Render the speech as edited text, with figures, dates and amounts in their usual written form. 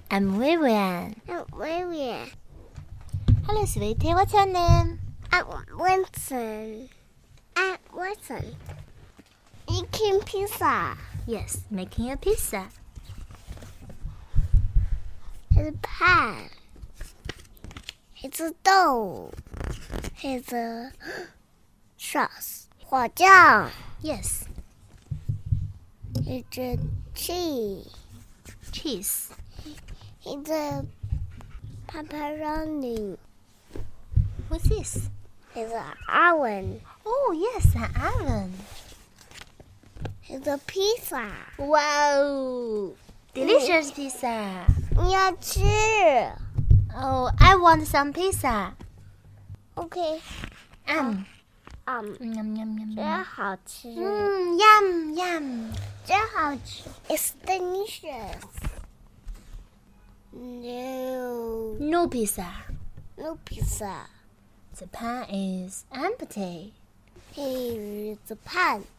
I'm Vivian. I'm Vivian. Hello, sweetie. What's your name? I'm Winston. I'm Winston. Eating pizza. Yes, making a pizza. It's a pan. It's a dough. It's a sauce. 火酱. Yes. It's a cheese. Cheese. It's a pepperoni. What's this? It's an oven. Oh, yes, an oven. It's a pizza. Wow! Delicious pizza. 你要吃 Oh, I want some pizza. OK. Yum, Yum, yum. 真好吃 Yum, yum. 真好吃 It's delicious. No. No pizza. No pizza. The pan is empty. Here is the pan.